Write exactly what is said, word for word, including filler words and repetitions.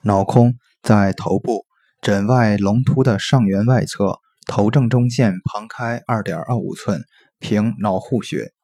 脑空在头部枕外龙突的上缘外侧，头正中线旁开 二点二五寸，凭脑户穴。